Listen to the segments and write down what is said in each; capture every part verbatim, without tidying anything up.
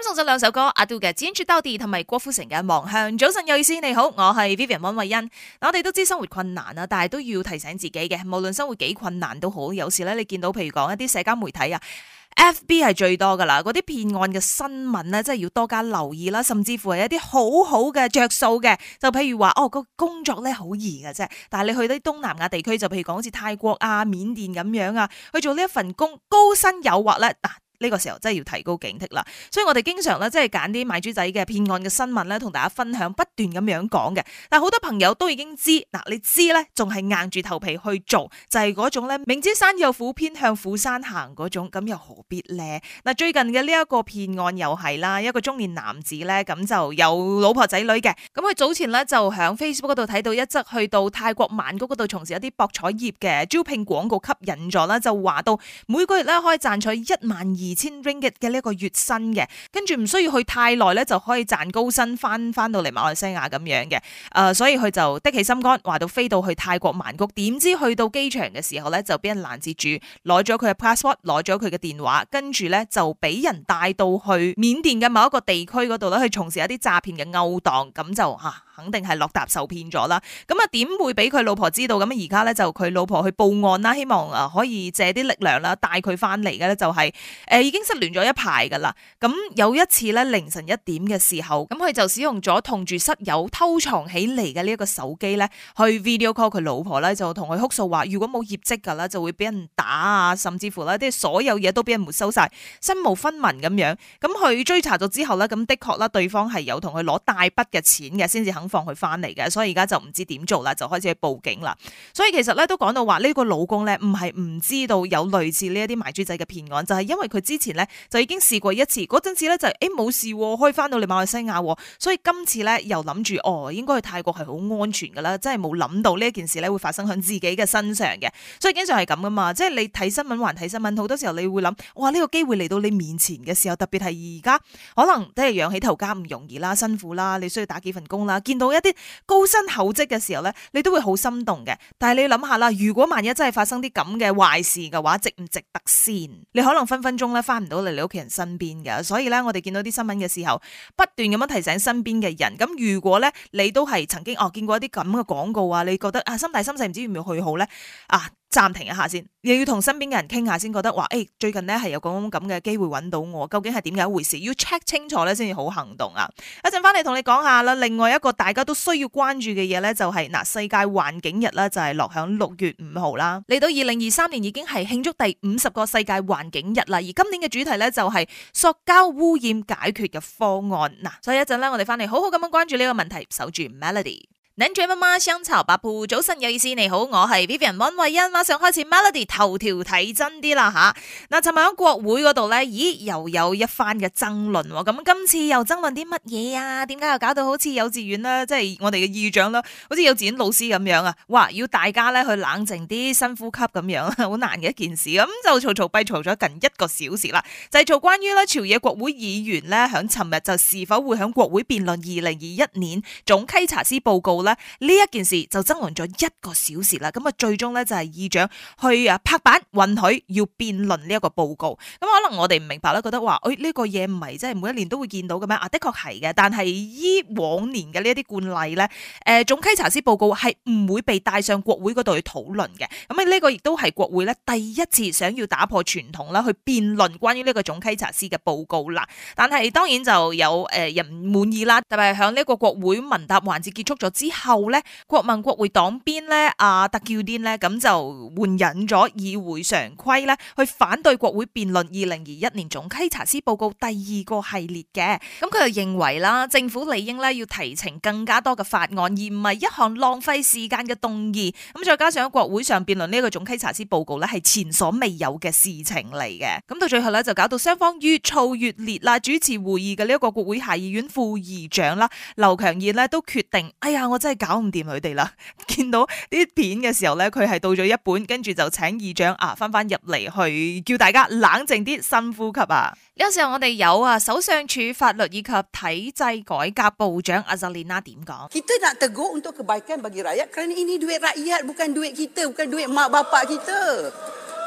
送咗兩首歌，阿杜嘅《堅決到底》同埋郭富城嘅《望向》。早晨有意思，你好，我係 Vivian 溫慧欣。我哋都知生活困難啊，但係都要提醒自己嘅，無論生活幾困難都好，有時咧你見到譬如講一啲社交媒體啊。F B 係最多噶啦，嗰啲騙案嘅新聞咧，真係要多加留意啦，甚至乎係一啲好好嘅着數嘅，就譬如話哦個工作咧好易嘅啫，但係你去啲東南亞地區，就譬如講好似泰國啊、緬甸咁樣啊，去做呢一份工，高薪誘惑咧嗱。呢個時候真係要提高警惕啦，所以我哋經常咧即係揀啲賣豬仔嘅騙案嘅新聞咧，同大家分享，不斷咁樣講嘅。但係好多朋友都已經知，嗱你知咧，仲係硬住頭皮去做，就係嗰種咧明知山有虎，偏向虎山行嗰種，咁又何必咧？嗱最近嘅呢一個騙案又係啦，一個中年男子咧咁就有老婆仔女嘅，咁佢早前咧就響 Facebook 嗰度睇到一則去到泰國曼谷嗰度從事一啲博彩業嘅招聘廣告，吸引咗啦，就話到每個月咧可以賺取一萬二。二千 ringgit 嘅呢一個月薪嘅，跟住唔需要去太耐咧，就可以賺高薪翻翻到嚟馬來西亞咁樣嘅。誒、呃，所以佢就的起心肝，話到飛到去泰國曼谷，點知去到機場嘅時候咧，就俾人攔截住，攞咗佢嘅 passport，攞咗佢嘅電話，跟住咧就俾人帶到去緬甸嘅某一個地區嗰度咧，去從事一啲詐騙嘅勾當，咁就吓、啊、肯定係落搭受騙咗啦。咁啊，點會俾佢老婆知道？咁而家咧就佢老婆去報案啦，希望誒可以借啲力量啦，帶佢翻嚟嘅咧就係、是、誒。呃已經失聯咗一排噶啦，咁有一次咧凌晨一點嘅時候，咁佢就使用咗同住室友偷藏起嚟嘅呢一個手機咧，去 video call 佢老婆咧，就同佢哭訴話，如果冇業績噶啦，就會俾人打啊，甚至乎咧啲所有嘢都俾人沒收晒，身無分文咁樣。咁佢追查咗之後咧，咁的確啦，對方係有同佢攞大筆嘅錢嘅，先至肯放佢翻嚟嘅，所以而家就唔知點做啦，就開始去報警啦。所以其實咧都講到話呢個老公咧唔係唔知道有類似呢一啲賣豬仔嘅騙案，就係、是、因為佢之前咧就已經試過一次，嗰陣時咧就誒冇事，可以翻到嚟馬來西亞，所以今次咧又諗住哦，應該去泰國係好安全噶啦，真係冇諗到呢一件事咧會發生喺自己嘅身上嘅，所以經常係咁噶嘛，即係你睇新聞還睇新聞，好多時候你會諗，哇呢個機會嚟到你面前嘅時候，特別係而家可能即係養起頭家唔容易啦，辛苦啦，你需要打幾份工啦，見到一啲高薪厚職嘅時候咧，你都會好心動嘅。但係你諗下啦，如果萬一真係發生啲咁嘅壞事嘅話，值唔值得先？你可能分分鐘咧翻唔到嚟你屋企人身邊嘅，所以咧我哋見到啲新聞嘅時候，不斷咁樣提醒身邊嘅人。咁如果咧你都係曾經哦見過一啲咁嘅廣告啊，你覺得啊心大心細唔知要唔要去好咧啊？暫停一下先，又要同身邊嘅人傾下先，覺得話誒、欸、最近咧係有咁咁嘅機會揾到我，究竟係點解一回事？要 check 清楚咧先至好行動啊！一陣翻嚟同你講下啦，另外一個大家都需要關注嘅嘢咧，就係、是、嗱世界環境日啦，就係落響六月五號啦。嚟到二零二三年已經係慶祝第五十個世界環境日啦，而今年嘅主題咧就係塑膠污染解決嘅方案嗱。所以一陣咧，我哋翻嚟好好咁樣關注呢個問題，守住 Melody。諗住媽媽香草八鋪，早晨有意思，你好，我係 Vivian 溫慧欣，馬上開始 Melody 頭條睇真啲啦吓。嗱，尋日喺國會嗰度咧，咦又有一番嘅爭論，咁今次又爭論啲乜嘢啊？點解又搞到好似幼稚園啦，即係我哋嘅議長啦，好似幼稚園老師咁樣啊？哇，要大家咧去冷靜啲，深呼吸咁樣，好難嘅一件事。咁就嘈嘈閉嘈咗近一個小時啦，就係做關於咧朝野國會議員咧響尋日就是否會響國會辯論二零二一年總稽查司報告。呢一件事就爭論咗一個小時啦，咁啊最終咧就係議長去啊拍板允許要辯論呢一個報告。咁可能我哋唔明白啦，覺得話誒呢個嘢唔係即係每一年都會見到嘅咩？啊的確係嘅，但係依往年嘅呢一啲慣例咧，誒總稽查司報告係唔會被帶上國會嗰度去討論嘅。咁啊呢個亦都係國會咧第一次想要打破傳統啦，去辯論關於呢個總稽查司嘅報告啦。但係當然就有誒人唔滿意啦，特別係響呢一個國會問答環節結束咗之後。後咧，國民國會黨鞭咧，阿特叫顛咧，咁就援引咗議會常規咧，去反對國會辯論二零二一年總稽查司報告第二個系列嘅。咁佢又認為啦，政府理應咧要提呈更加多嘅法案，而唔係一項浪費時間嘅動議。咁再加上喺國會上辯論呢一個總稽查司報告咧，係前所未有嘅事情嚟嘅。咁到最後咧，就搞到雙方越嘈越烈啦。主持會議嘅呢一個國會下議院副議長啦，劉強義咧都決定，哎呀，我真係搞唔掂佢哋啦！見到啲片嘅時候咧，佢係到咗一半，跟住就請議長啊翻翻入嚟，去叫大家冷靜啲，深呼吸啊！呢個時候我哋有啊首相署法律以及體制改革部長阿扎莉娜點講 Kita nak tegur untuk kebaikan bagi rakyat kerana ini duit rakyat bukan duit kita, bukan duit mak bapak kita.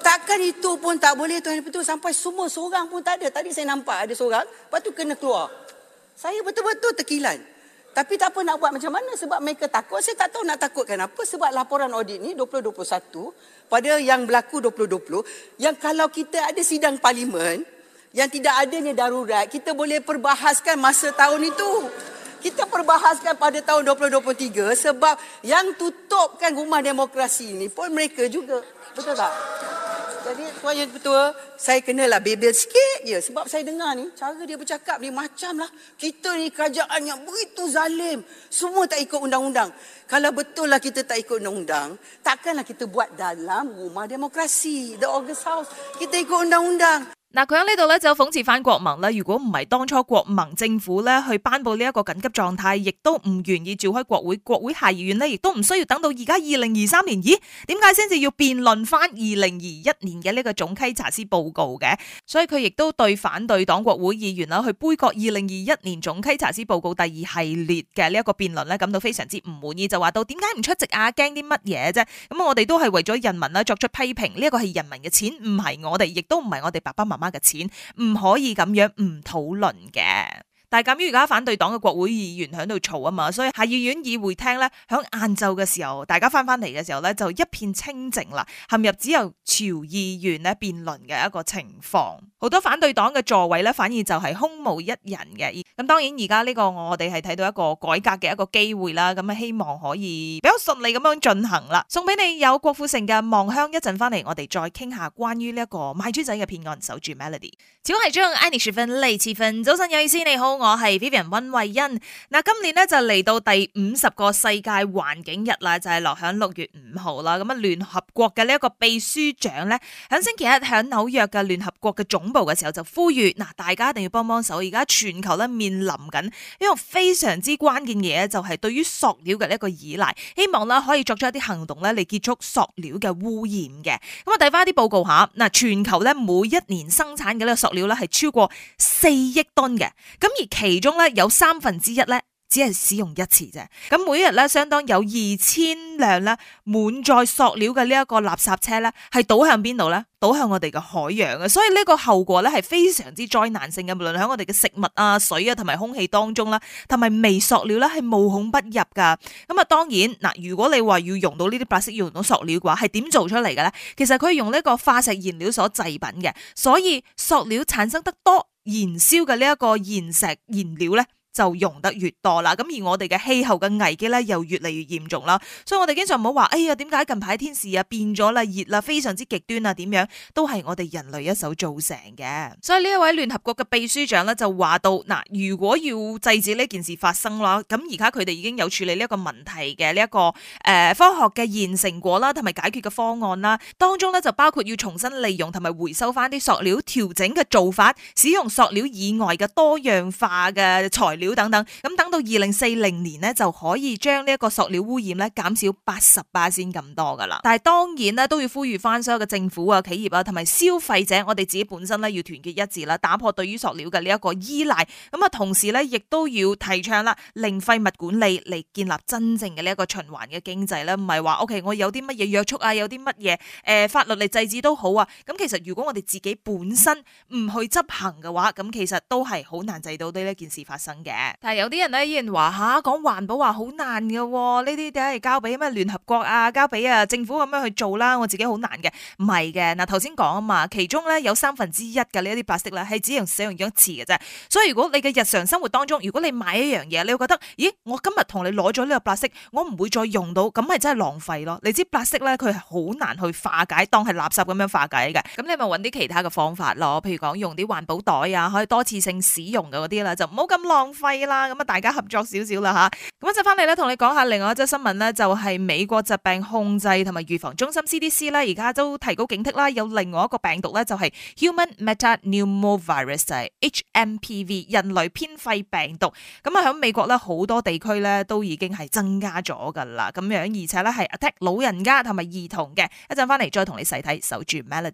Takkan itu pun tak boleh Tuan Betul sampai semua seorang pun tak ada. Tadi saya nampak ada seorang, lepas tu kena keluar. Saya betul-betul terkilan. Tapi tak apa nak buat macam mana sebab mereka takut. Saya tak tahu nak takutkan apa sebab laporan audit ni dua ribu dua puluh satu pada yang berlaku dua ribu dua puluh yang kalau kita ada sidang parlimen yang tidak adanya darurat, kita boleh perbahaskan masa tahun itu. Kita perbahaskan pada tahun dua ribu dua puluh tiga sebab yang tutupkan rumah demokrasi ini pun mereka juga. Betul tak? Jadi Tuan Yang Ketua, saya kenalah bebel sikit je sebab saya dengar ni, cara dia bercakap ni macam lah kita ni kerajaan yang begitu zalim. Semua tak ikut undang-undang. Kalau betul lah kita tak ikut undang-undang, takkanlah kita buat dalam rumah demokrasi, the August House. Kita ikut undang-undang. 嗱，佢喺呢度咧就諷刺翻國盟啦。如果唔係當初國盟政府咧去頒布呢一個緊急狀態，亦都唔願意召開國會，國會下議院咧亦都唔需要等到而家二零二三年。咦，點解先至要辯論翻二零二一年嘅呢個總稽查司報告嘅？所以佢亦都對反對黨國會議員啦去杯葛二零二一年總稽查司報告第二系列嘅呢一個辯論咧感到非常之唔滿意，就話到點解唔出席啊？驚啲乜嘢啫？咁我哋都係為咗人民啦作出批評，呢一個係人民嘅錢，唔係我哋，亦都唔係我哋爸爸媽媽嘅錢，唔可以咁樣唔討論嘅。但係鑑於而家反對黨嘅國會議員喺度嘈啊嘛，所以下議院議會廳咧響晏晝嘅時候，大家翻翻嚟嘅時候咧就一片清靜啦，陷入只有朝議員咧辯論嘅一個情況。好多反對黨嘅座位咧反而就係空無一人嘅。咁當然而家呢個我哋係睇到一個改革嘅一個機會啦，咁啊希望可以比較順利咁樣進行啦。送俾你有郭富城嘅望鄉，一陣翻嚟我哋再傾下關於呢一個賣豬仔嘅騙案，守住 Melody。小係將 Annie 十分嚟次分，早晨有意思，你好，我係 Vivian 溫慧欣。嗱，今年咧就嚟到第五十個世界環境日啦，就係落響六月五號啦。咁啊，聯合國嘅呢一個秘書長咧，響星期一響紐約嘅聯合國嘅總部嘅時候就呼籲，嗱，大家一定要幫幫手。而家全球咧面臨緊一個非常之關鍵嘅嘢，就係對於塑料嘅呢一個依賴，希望啦可以作出一啲行動咧嚟結束塑料嘅污染嘅。咁啊，睇翻啲報告下，嗱，全球咧每一年生產嘅呢個塑料咧係超過四億噸嘅，咁而其中咧有三分之一咧只係使用一次啫。咁每日咧相當有二千輛咧滿載塑料嘅呢一個垃圾車咧係倒向邊度咧？倒向我哋嘅海洋嘅，所以呢個後果咧係非常之災難性嘅，無論喺我哋嘅食物啊、水啊同埋空氣當中啦，同埋微塑料咧係無孔不入噶。咁啊，當然嗱，如果你話要用到呢啲白色，要用到塑料嘅話，係點做出嚟嘅咧？其實佢係用呢個化石燃料所製品嘅，所以塑料產生得多，燃燒嘅呢一個燃石燃料咧就用得越多啦，咁而我哋嘅氣候嘅危機咧又越嚟越嚴重啦，所以我哋經常唔好話，哎呀，點解近排天時啊變咗啦，熱啦，非常之極端啊，點樣都係我哋人類一手造成嘅。所以呢一位聯合國嘅秘書長咧就話到，嗱，如果要制止呢件事發生啦，咁而家佢哋已經有處理呢一個問題嘅呢一個誒、呃、科學嘅現成果啦，同埋解決嘅方案啦，當中咧就包括要重新利用同埋回收翻啲塑料，調整嘅做法，使用塑料以外嘅多樣化嘅材料。料等等，咁等到二零四零年呢，就可以將呢一個塑料污染咧減少八十巴仙咁多噶啦。但係當然咧都要呼籲翻所有嘅政府啊、企業啊同埋消費者，我哋自己本身咧要團結一致啦，打破對於塑料嘅呢一個依賴。咁啊，同時咧亦都要提倡啦零廢物管理嚟建立真正嘅呢一個循環嘅經濟咧，唔係話 OK 我有啲乜嘢約束啊，有啲乜嘢誒法律嚟制止都好啊。咁其實如果我哋自己本身唔去執行嘅話，咁其實都係好難制到呢一件事發生嘅。但係有啲人咧依然話吓講環保話好難嘅，呢啲梗係交俾咩聯合國啊，交俾啊政府咁樣去做啦，我自己好難嘅，唔係嘅。嗱，頭先講啊嘛，其中咧有三分之一嘅呢一啲白色咧係只用使用咗一次嘅啫，所以如果你嘅日常生活當中，如果你買一樣嘢，你會覺得，咦，我今日同你攞咗呢個白色，我唔會再用到，咁係真係浪費咯。你知白色咧佢係好難去化解，當係垃圾咁樣化解嘅，咁你咪揾啲其他嘅方法咯，譬如講用啲環保袋啊，可以多次性使用嘅嗰啲啦，就唔好咁浪費啦。咁啊，大家合作少少啦吓。咁一陣翻嚟咧，同你講下另外一則新聞咧，就係美國疾病控制同埋預防中心 C D C 咧，而家都提高警惕啦。有另外一個病毒咧，就係 Human Metapneumovirus， 就係 H M P V 人類偏肺病毒。咁啊，喺美國咧好多地區咧都已經係增加咗噶啦。咁樣而且咧係 attack 老人家同埋兒童嘅。一陣翻嚟再同你細睇，守住 Melody。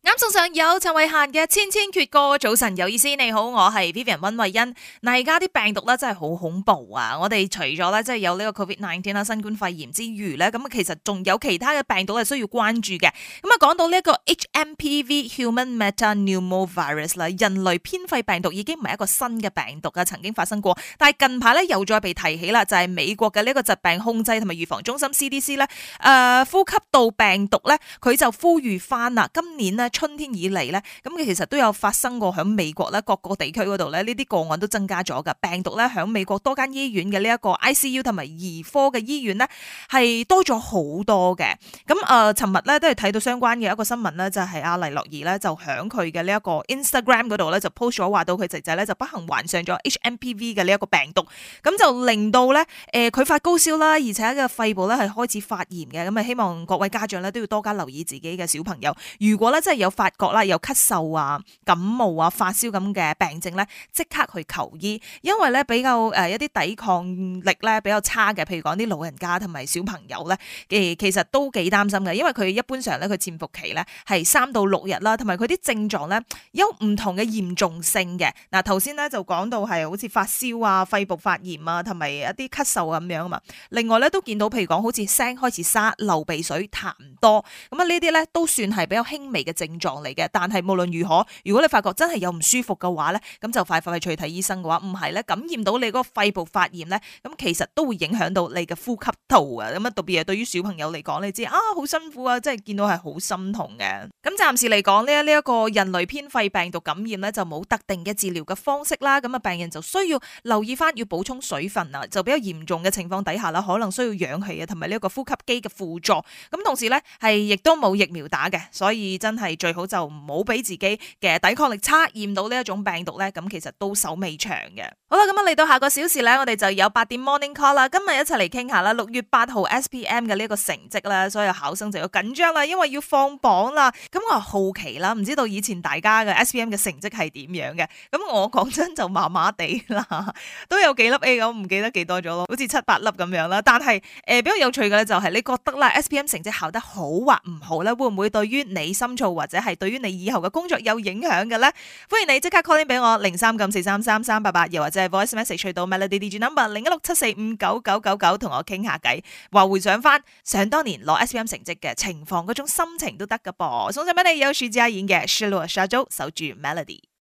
啱送上有陳慧嫻嘅千千闕歌，早晨有意思，你好，我係 Vivian 溫慧欣。嗱，而家啲病毒咧真係好恐怖啊！我哋除咗咧即係有呢個 covid 十九 啦，新冠肺炎之餘咧，咁啊其實仲有其他嘅病毒係需要關注嘅。咁啊講到呢一個 H M P V Human Metapneumovirus 啦，人類偏肺病毒已經唔係一個新嘅病毒啊，曾經發生過，但係近排咧又再被提起啦，就係、是、美國嘅呢一個疾病控制同埋預防中心 C D C 咧，誒、呃、呼吸道病毒咧，佢就呼籲翻啦，今年咧。春天以嚟咧，咁其實都有發生過喺美國咧各個地區嗰度咧，呢啲個案都增加咗噶。病毒咧喺美國多間醫院嘅呢一個 I C U 同埋兒科嘅醫院咧係多咗好多嘅。咁誒，尋日咧都係睇到相關嘅一個新聞咧，就係阿黎諾兒咧就喺佢嘅呢一個 Instagram 嗰度咧就 post 咗話到佢仔仔咧就不幸患上咗 H M P V 嘅呢一個病毒，咁就令到咧誒佢發高燒啦，而且個肺部咧係開始發炎嘅。咁啊，希望各位家長咧都要多加留意自己嘅小朋友，如果咧真係有有發覺啦，有咳嗽啊、感冒啊、發燒咁嘅病症咧，即刻去求醫，因為咧比較誒一啲抵抗力咧比較差嘅，譬如講啲老人家同埋小朋友咧，誒其實都幾擔心嘅，因為佢一般上咧佢潛伏期咧係三到六日啦，同埋佢啲症狀咧有唔同嘅嚴重性嘅。嗱，頭先咧就講到係好似發燒啊、肺部發炎啊，同埋一啲咳嗽啊咁樣啊嘛。另外咧都見到譬如講好似聲開始沙、流鼻水、痰多，咁啊呢啲咧都算係比較輕微嘅症狀嚟嘅，但係無論如何，如果你發覺真係有唔舒服嘅話咧，咁就快快去睇醫生嘅話，唔係咧感染到你嗰個肺部發炎咧，咁其實都會影響到你嘅呼吸道啊，咁啊特別係對於小朋友嚟講，你知啊好辛苦啊，即係見到係好心痛嘅。咁暫時嚟講呢，呢一個人類偏肺病毒感染咧就冇特定嘅治療嘅方式啦，咁啊病人就需要留意翻要補充水分啊，就比較嚴重嘅情況底下啦，可能需要氧氣啊，同埋呢一個呼吸機嘅輔助。咁同時咧係亦都冇疫苗打嘅，所以真係最好就唔好俾自己嘅抵抗力差，驗到呢一種病毒咧，咁其實都手尾長嘅。好啦，咁啊嚟到下個小時咧，我哋就有八點 Morning Call 啦。今日一齊嚟傾下啦，六月八號 S P M 嘅呢一個成績啦，所有考生就要緊張啦，因為要放榜啦。咁我好奇啦，唔知道以前大家嘅 S P M 嘅成績係點樣嘅？咁我講真就麻麻地啦，都有幾粒 A，我唔記得幾多咗咯，好似七八粒咁樣啦。但係誒、呃、比較有趣嘅咧，就係你覺得啦 S P M 成績考得好或唔好咧，會唔會對於你深造或者係對於你以後嘅工作有影響嘅咧？歡迎你即刻 call in 俾我零三九四三三三八八，又或者係 voice message 去到 Melody D J number 零一六七四五九九九九，同我傾下偈，話回想翻想當年攞 S P M 成績嘅情況，嗰種心情都得噶噃。送上俾你有徐佳瑩嘅《失落沙洲》，守住 Melody。